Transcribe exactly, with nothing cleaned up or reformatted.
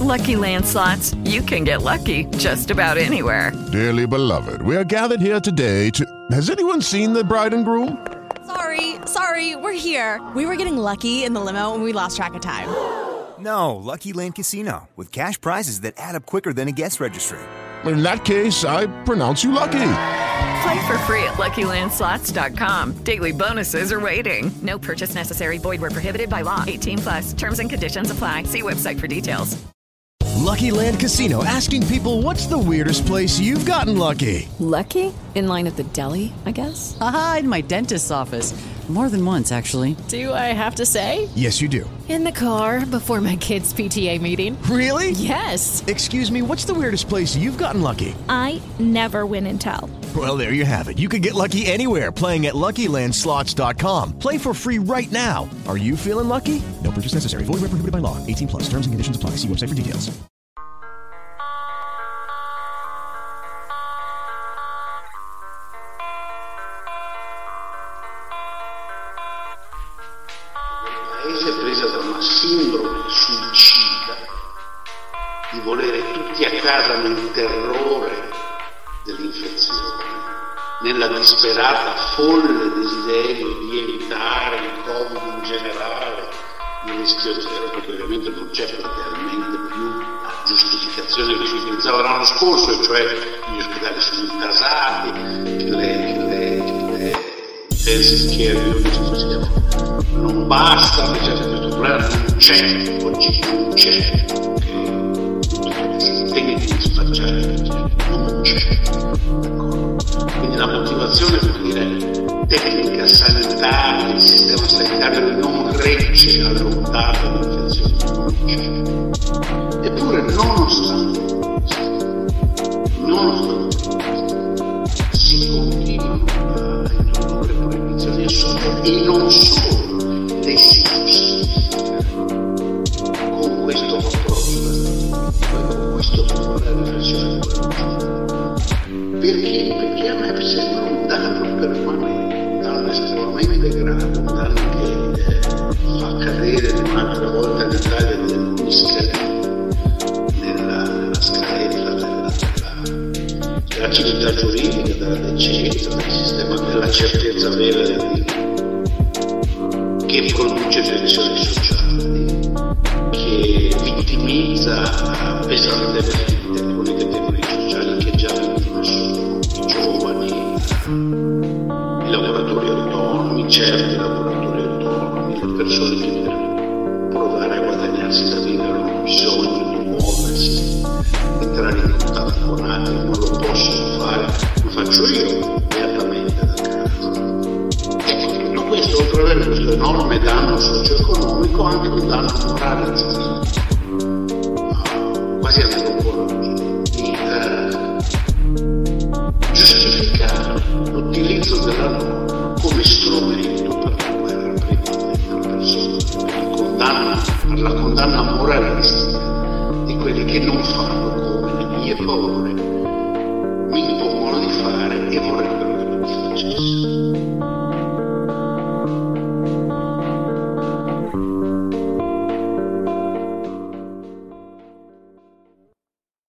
Lucky Land Slots, you can get lucky just about anywhere. Dearly beloved, we are gathered here today to... Has anyone seen the bride and groom? Sorry, sorry, we're here. We were getting lucky in the limo and we lost track of time. No, Lucky Land Casino, with cash prizes that add up quicker than a guest registry. In that case, I pronounce you lucky. Play for free at Lucky Land Slots dot com. Daily bonuses are waiting. No purchase necessary. Void where prohibited by law. eighteen plus. Terms and conditions apply. See website for details. Lucky Land Casino, asking people, what's the weirdest place you've gotten lucky? Lucky? In line at the deli, I guess? Aha, in my dentist's office. More than once, actually. Do I have to say? Yes, you do. In the car before my kids' P T A meeting. Really? Yes. Excuse me, what's the weirdest place you've gotten lucky? I never win and tell. Well, there you have it. You can get lucky anywhere, playing at Lucky Land Slots dot com. Play for free right now. Are you feeling lucky? No purchase necessary. Void where prohibited by law. eighteen plus. Terms and conditions apply. See website for details. Paese presa da una sindrome suicida di volere tutti a casa nel terrore dell'infezione, nella disperata folle desiderio di evitare il Covid in generale, il rischio zero, perché ovviamente non c'è praticamente più la giustificazione che si utilizzava l'anno scorso, e cioè gli ospedali sono intasati, le, le, le intensive care unit non basta, questo problema non c'è, oggi non c'è, che si tende di spacciare, non c'è, d'accordo? Quindi la motivazione per dire tecnica sanitaria, il sistema sanitario non regge all'ondata dell'infezione, non c'è. Eppure nonostante questo, nonostante questo, si continuano a introdurre proibizioni assurde e non solo le si giustifica con questo approccio, con questo tipo di riflessione. Perché? Perché a me sembra un danno permanente, un danno estremamente grave, un danno che eh, fa cadere un'altra volta l'Italia degli scalini nella, nella scaletta della, della, della civiltà giuridica, della decenza, del sistema della certezza vera del diritto, che produce tensioni sociali, che vittimizza pesantemente alcune categorie sociali che già vittima sono i giovani, i lavoratori autonomi, certi lavoratori autonomi, le persone che per provare a guadagnarsi la vita hanno bisogno di muoversi, entrare in contatto con altri, non lo possono fare, lo faccio io beatamente da casa. Questo, oltre ad avere questo enorme danno socio-economico, anche un danno morale e civile, quasi antropologico, di eh, giustificare l'utilizzo della norma come strumento per la guerra privata della persona, per la condanna, per la condanna moralistica di quelli che non fanno come le mie paure mi impongono di fare e vorrei